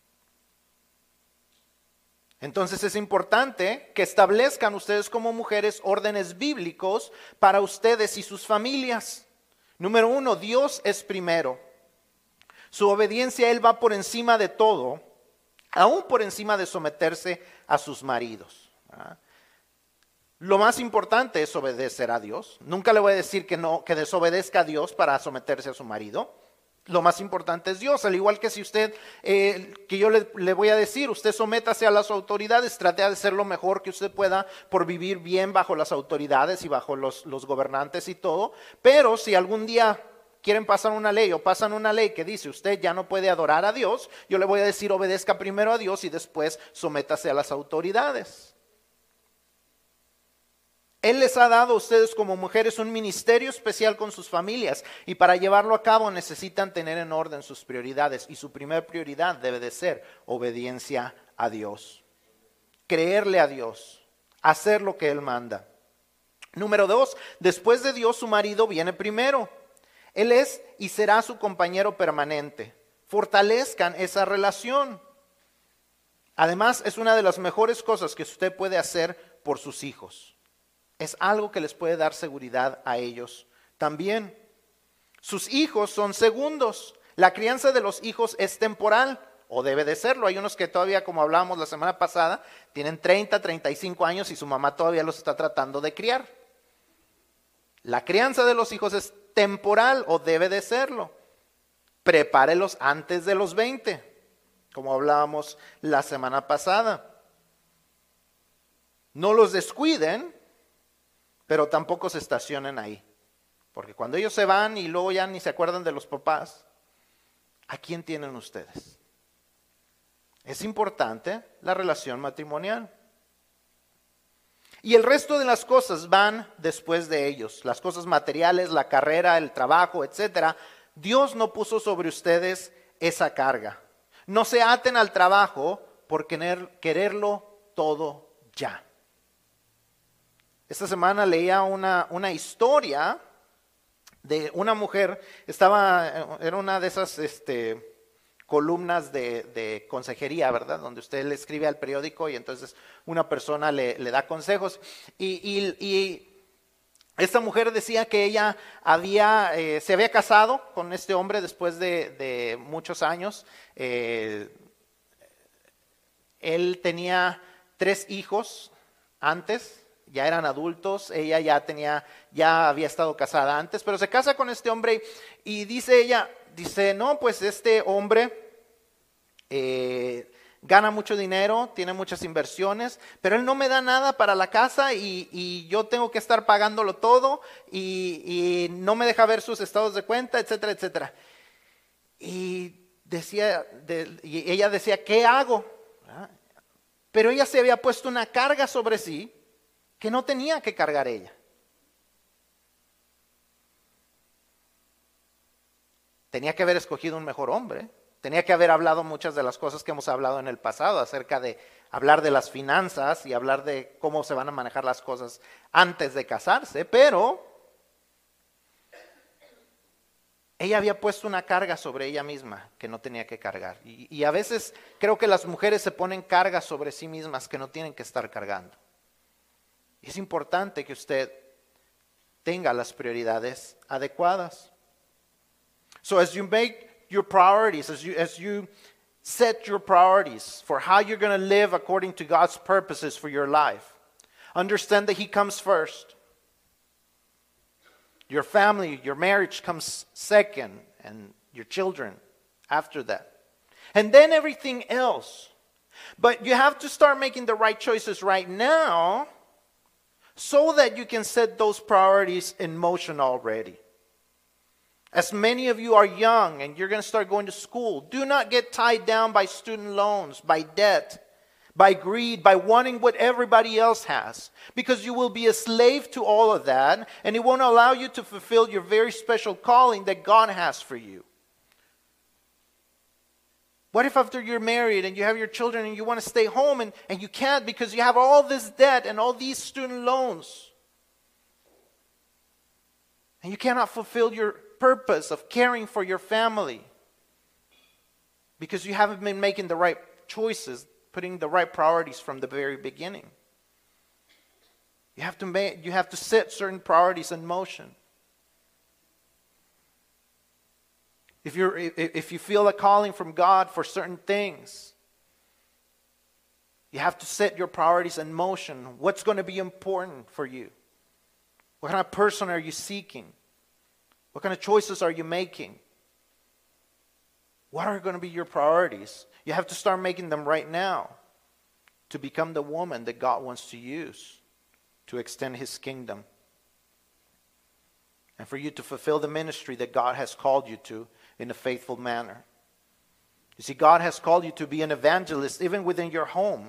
Entonces es importante que establezcan ustedes como mujeres órdenes bíblicos para ustedes y sus familias. Número uno, Dios es primero. Su obediencia a Él va por encima de todo, aún por encima de someterse a sus maridos. ¿Ah? Lo más importante es obedecer a Dios. Nunca le voy a decir que no, que desobedezca a Dios para someterse a su marido. Lo más importante es Dios, al igual que si usted, eh, que yo le, le voy a decir, usted sométase a las autoridades, trate de hacer lo mejor que usted pueda por vivir bien bajo las autoridades y bajo los, los gobernantes y todo. Pero si algún día quieren pasar una ley o pasan una ley que dice usted ya no puede adorar a Dios, yo le voy a decir obedezca primero a Dios y después sométase a las autoridades. Él les ha dado a ustedes como mujeres un ministerio especial con sus familias y para llevarlo a cabo necesitan tener en orden sus prioridades y su primera prioridad debe de ser obediencia a Dios, creerle a Dios, hacer lo que Él manda. Número dos, después de Dios su marido viene primero. Él es y será su compañero permanente. Fortalezcan esa relación. Además, es una de las mejores cosas que usted puede hacer por sus hijos. Es algo que les puede dar seguridad a ellos también. Sus hijos son segundos. La crianza de los hijos es temporal, o debe de serlo. Hay unos que todavía, como hablábamos la semana pasada, tienen treinta, treinta y cinco años y su mamá todavía los está tratando de criar. La crianza de los hijos es temporal, o debe de serlo. Prepárelos antes de los veinte, como hablábamos la semana pasada. No los descuiden, pero tampoco se estacionen ahí. Porque cuando ellos se van y luego ya ni se acuerdan de los papás, ¿a quién tienen ustedes? Es importante la relación matrimonial. Y el resto de las cosas van después de ellos. Las cosas materiales, la carrera, el trabajo, etcétera. Dios no puso sobre ustedes esa carga. No se aten al trabajo por querer, quererlo todo ya. Esta semana leía una, una historia de una mujer, estaba, era una de esas este, columnas de, de consejería, ¿verdad? Donde usted le escribe al periódico y entonces una persona le, le da consejos. Y, y, y esta mujer decía que ella había, eh, se había casado con este hombre después de, de muchos años. Eh, él tenía tres hijos antes. Ya eran adultos, ella ya tenía, ya había estado casada antes, pero se casa con este hombre y dice ella, dice, no, pues este hombre eh, gana mucho dinero, tiene muchas inversiones, pero él no me da nada para la casa y, y yo tengo que estar pagándolo todo y, y no me deja ver sus estados de cuenta, etcétera, etcétera. Y decía, de, y ella decía, ¿qué hago? ¿verdad? Pero ella se había puesto una carga sobre sí que no tenía que cargar ella. Tenía que haber escogido un mejor hombre. Tenía que haber hablado muchas de las cosas que hemos hablado en el pasado, acerca de hablar de las finanzas y hablar de cómo se van a manejar las cosas antes de casarse, pero ella había puesto una carga sobre ella misma que no tenía que cargar. Y, y a veces creo que las mujeres se ponen cargas sobre sí mismas que no tienen que estar cargando. Es importante que usted tenga las prioridades adecuadas. So as you make your priorities, as you, as you set your priorities for how you're going to live according to God's purposes for your life, understand that He comes first. Your family, your marriage comes second, and your children after that. And then everything else But you have to start making the right choices right now so that you can set those priorities in motion already. As many of you are young and you're going to start going to school, do not get tied down by student loans, by debt, by greed, by wanting what everybody else has. Because you will be a slave to all of that, and it won't allow you to fulfill your very special calling that God has for you. What if after you're married and you have your children and you want to stay home and, and you can't because you have all this debt and all these student loans? And you cannot fulfill your purpose of caring for your family because you haven't been making the right choices, putting the right priorities from the very beginning. You have to make, you have to set certain priorities in motion. If you're if you feel a calling from God for certain things, you have to set your priorities in motion. What's going to be important for you? What kind of person are you seeking? What kind of choices are you making? What are going to be your priorities? You have to start making them right now to become the woman that God wants to use to extend His kingdom. And for you to fulfill the ministry that God has called you to in a faithful manner. You see, God has called you to be an evangelist even within your home.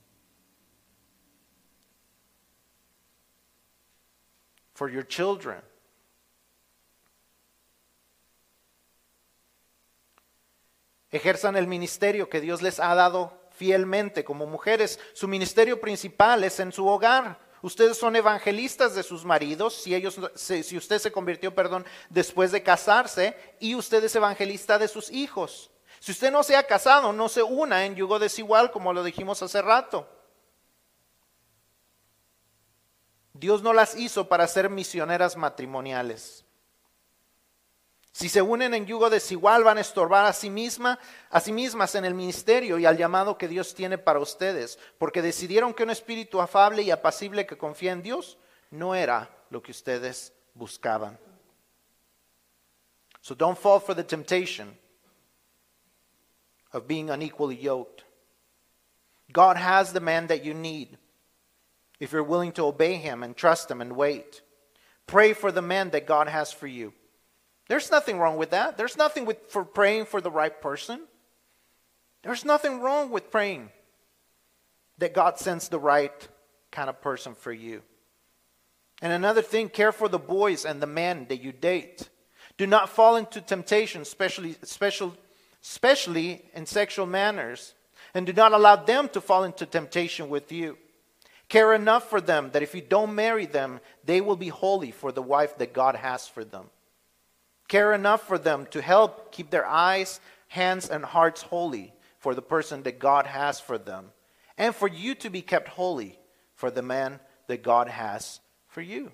For your children. Ejerzan el ministerio que Dios les ha dado fielmente como mujeres. Su ministerio principal es en su hogar. Ustedes son evangelistas de sus maridos, si, ellos, si usted se convirtió, perdón, después de casarse, y usted es evangelista de sus hijos. Si usted no se ha casado, no se una en yugo desigual, como lo dijimos hace rato. Dios no las hizo para ser misioneras matrimoniales. Si se unen en yugo desigual, van a estorbar a sí, misma, a sí mismas en el ministerio y al llamado que Dios tiene para ustedes, porque decidieron que un espíritu afable y apacible que confía en Dios no era lo que ustedes buscaban. So don't fall for the temptation of being unequally yoked. God has the man that you need if you're willing to obey Him and trust Him and wait. Pray for the man that God has for you. There's nothing wrong with that. There's nothing with, for praying for the right person. There's nothing wrong with praying that God sends the right kind of person for you. And another thing, care for the boys and the men that you date. Do not fall into temptation, especially, especially, especially in sexual manners. And do not allow them to fall into temptation with you. Care enough for them that if you don't marry them, they will be holy for the wife that God has for them. Care enough for them to help keep their eyes, hands, and hearts holy for the person that God has for them. And for you to be kept holy for the man that God has for you.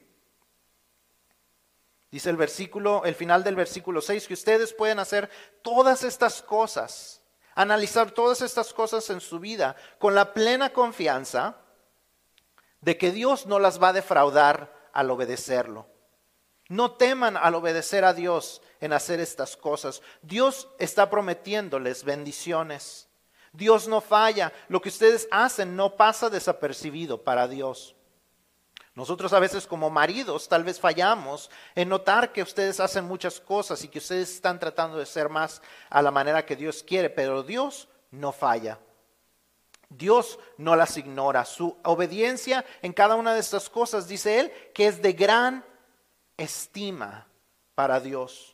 Dice el versículo, el final del versículo seis, que ustedes pueden hacer todas estas cosas, analizar todas estas cosas en su vida con la plena confianza de que Dios no las va a defraudar al obedecerlo. No teman al obedecer a Dios en hacer estas cosas. Dios está prometiéndoles bendiciones. Dios no falla. Lo que ustedes hacen no pasa desapercibido para Dios. Nosotros a veces como maridos tal vez fallamos en notar que ustedes hacen muchas cosas y que ustedes están tratando de ser más a la manera que Dios quiere, pero Dios no falla. Dios no las ignora. Su obediencia en cada una de estas cosas, dice Él, que es de gran estima para Dios.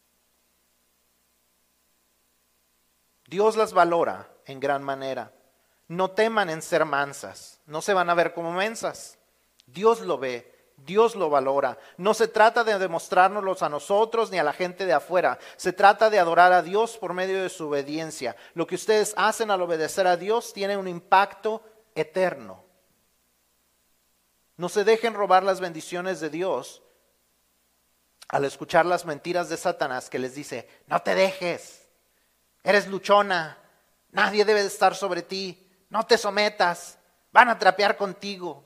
Dios las valora en gran manera. No teman en ser mansas. No se van a ver como mensas. Dios lo ve. Dios lo valora. No se trata de demostrárnoslos a nosotros ni a la gente de afuera. Se trata de adorar a Dios por medio de su obediencia. Lo que ustedes hacen al obedecer a Dios tiene un impacto eterno. No se dejen robar las bendiciones de Dios al escuchar las mentiras de Satanás que les dice, no te dejes, eres luchona, nadie debe de estar sobre ti, no te sometas, van a trapear contigo.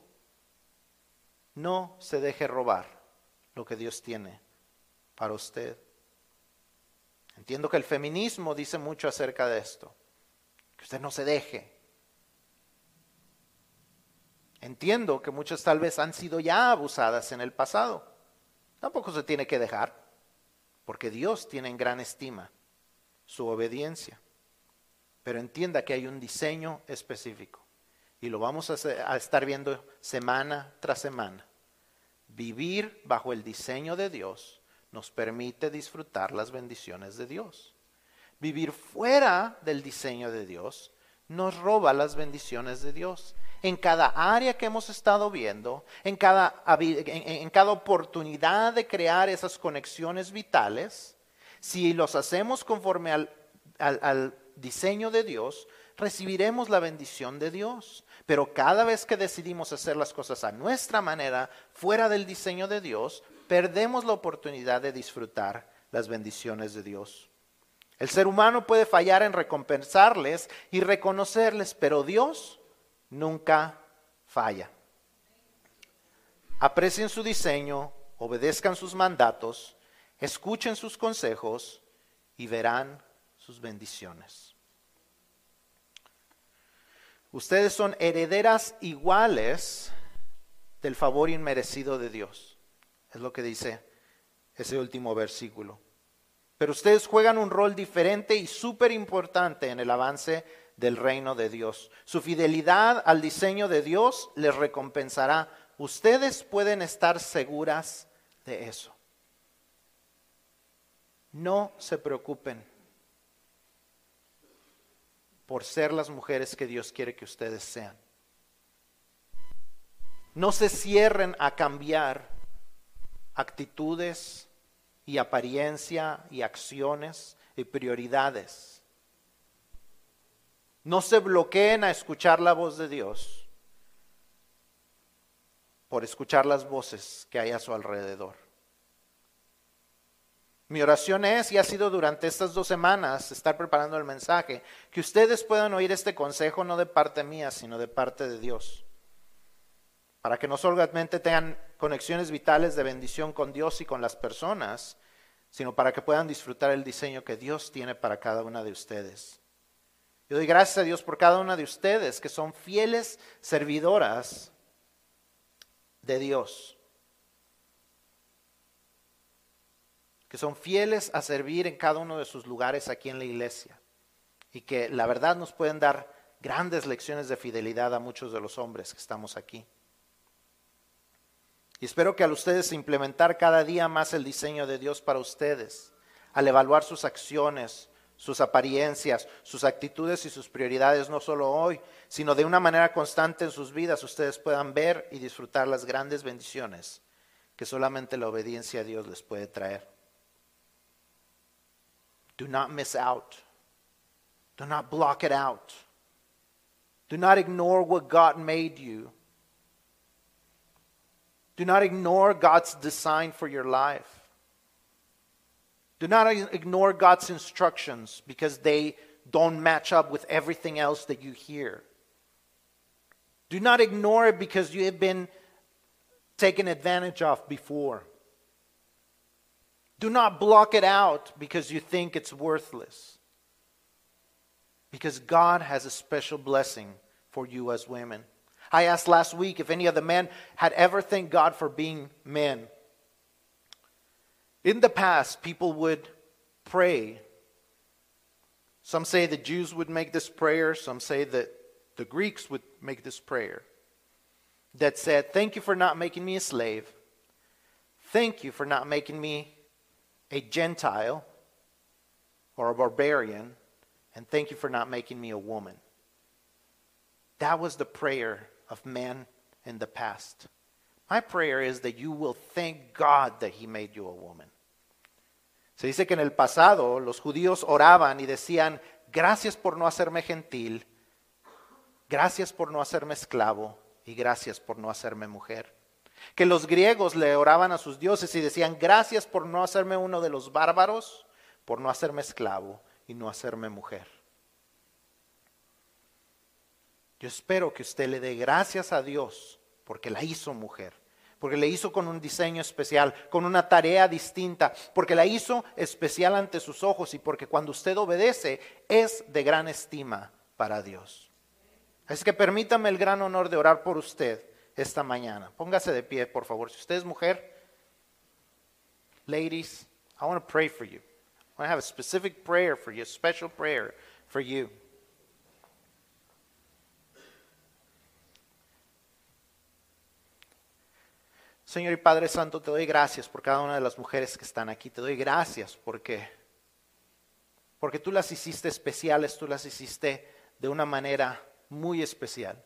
No se deje robar lo que Dios tiene para usted. Entiendo que el feminismo dice mucho acerca de esto, que usted no se deje, Entiendo que muchas tal vez han sido ya abusadas en el pasado. Tampoco se tiene que dejar, porque Dios tiene en gran estima su obediencia. Pero entienda que hay un diseño específico y lo vamos a, hacer, a estar viendo semana tras semana. Vivir bajo el diseño de Dios nos permite disfrutar las bendiciones de Dios. Vivir fuera del diseño de Dios nos roba las bendiciones de Dios. En cada área que hemos estado viendo, en cada, en, en cada oportunidad de crear esas conexiones vitales, si los hacemos conforme al, al, al diseño de Dios, recibiremos la bendición de Dios. Pero cada vez que decidimos hacer las cosas a nuestra manera, fuera del diseño de Dios, perdemos la oportunidad de disfrutar las bendiciones de Dios. El ser humano puede fallar en recompensarles y reconocerles, pero Dios nunca falla. Aprecien su diseño, obedezcan sus mandatos, escuchen sus consejos y verán sus bendiciones. Ustedes son herederas iguales del favor inmerecido de Dios. Es lo que dice ese último versículo. Pero ustedes juegan un rol diferente y súper importante en el avance del reino de Dios. Su fidelidad al diseño de Dios les recompensará. Ustedes pueden estar seguras de eso. No se preocupen por ser las mujeres que Dios quiere que ustedes sean. No se cierren a cambiar actitudes y apariencia y acciones y prioridades. No se bloqueen a escuchar la voz de Dios por escuchar las voces que hay a su alrededor. Mi oración es, y ha sido durante estas dos semanas, estar preparando el mensaje, que ustedes puedan oír este consejo no de parte mía, sino de parte de Dios. Para que no solamente tengan conexiones vitales de bendición con Dios y con las personas, sino para que puedan disfrutar el diseño que Dios tiene para cada una de ustedes. Yo doy gracias a Dios por cada una de ustedes que son fieles servidoras de Dios. Que son fieles a servir en cada uno de sus lugares aquí en la iglesia. Y que la verdad nos pueden dar grandes lecciones de fidelidad a muchos de los hombres que estamos aquí. Y espero que al ustedes implementar cada día más el diseño de Dios para ustedes, al evaluar sus acciones, sus apariencias, sus actitudes y sus prioridades, no solo hoy, sino de una manera constante en sus vidas, ustedes puedan ver y disfrutar las grandes bendiciones que solamente la obediencia a Dios les puede traer. Do not miss out. Do not block it out. Do not ignore what God made you. Do not ignore God's design for your life. Do not ignore God's instructions because they don't match up with everything else that you hear. Do not ignore it because you have been taken advantage of before. Do not block it out because you think it's worthless. Because God has a special blessing for you as women. I asked last week if any of the men had ever thanked God for being men. In the past, people would pray. Some say the Jews would make this prayer. Some say that the Greeks would make this prayer. That said, thank you for not making me a slave. Thank you for not making me a Gentile or a barbarian. And thank you for not making me a woman. That was the prayer of men in the past. My prayer is that you will thank God that He made you a woman. Se dice que en el pasado los judíos oraban y decían, gracias por no hacerme gentil, gracias por no hacerme esclavo y gracias por no hacerme mujer. Que los griegos le oraban a sus dioses y decían, gracias por no hacerme uno de los bárbaros, por no hacerme esclavo y no hacerme mujer. Yo espero que usted le dé gracias a Dios porque la hizo mujer, porque la hizo con un diseño especial, con una tarea distinta, porque la hizo especial ante sus ojos y porque cuando usted obedece es de gran estima para Dios. Así que permítame el gran honor de orar por usted esta mañana. Póngase de pie, por favor. Si usted es mujer, ladies, I want to pray for you. I want to have a specific prayer for you, a special prayer for you. Señor y Padre Santo, te doy gracias por cada una de las mujeres que están aquí. Te doy gracias porque, porque tú las hiciste especiales, tú las hiciste de una manera muy especial.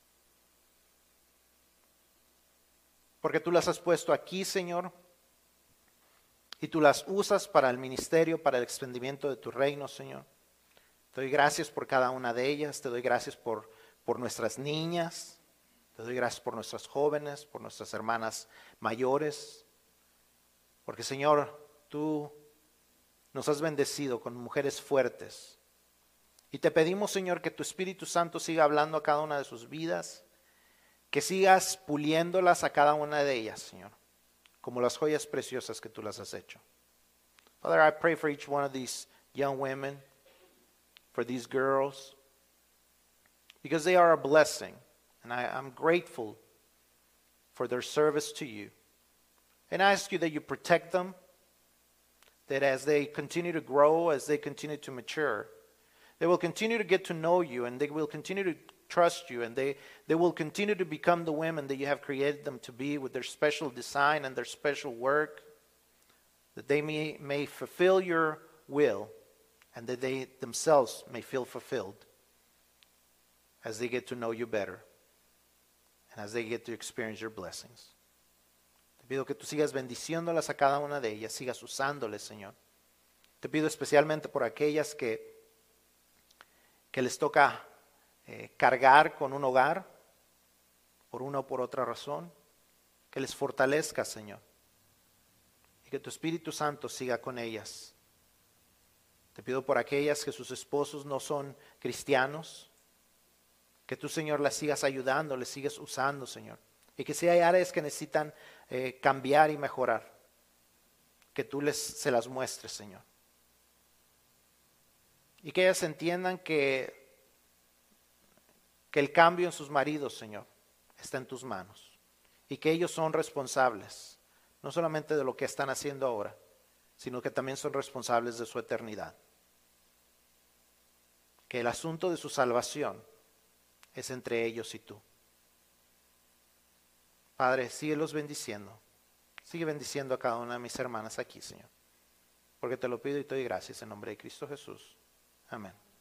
Porque tú las has puesto aquí, Señor, y tú las usas para el ministerio, para el extendimiento de tu reino, Señor. Te doy gracias por cada una de ellas, te doy gracias por, por nuestras niñas. Te doy gracias por nuestras jóvenes, por nuestras hermanas mayores, porque Señor, tú nos has bendecido con mujeres fuertes. Y te pedimos, Señor, que tu Espíritu Santo siga hablando a cada una de sus vidas, que sigas puliéndolas a cada una de ellas, Señor, como las joyas preciosas que tú las has hecho. Father, I pray for each one of these young women, for these girls, because they are a blessing. And I, I'm grateful for their service to you. And I ask you that you protect them, that as they continue to grow, as they continue to mature, they will continue to get to know you, and they will continue to trust you, and they, they will continue to become the women that you have created them to be with their special design and their special work, that they may, may fulfill your will, and that they themselves may feel fulfilled as they get to know you better. As they get to experience your blessings. Te pido que tú sigas bendiciéndolas a cada una de ellas, sigas usándoles, Señor. Te pido especialmente por aquellas que, que les toca eh, cargar con un hogar, por una o por otra razón, que les fortalezca, Señor. Y que tu Espíritu Santo siga con ellas. Te pido por aquellas que sus esposos no son cristianos, que tú, Señor, las sigas ayudando, les sigas usando, Señor. Y que si hay áreas que necesitan eh, cambiar y mejorar, que tú les, se las muestres, Señor. Y que ellas entiendan que, que el cambio en sus maridos, Señor, está en tus manos. Y que ellos son responsables, no solamente de lo que están haciendo ahora, sino que también son responsables de su eternidad. Que el asunto de su salvación es entre ellos y tú. Padre, síguelos bendiciendo. Sigue bendiciendo a cada una de mis hermanas aquí, Señor. Porque te lo pido y te doy gracias en nombre de Cristo Jesús. Amén.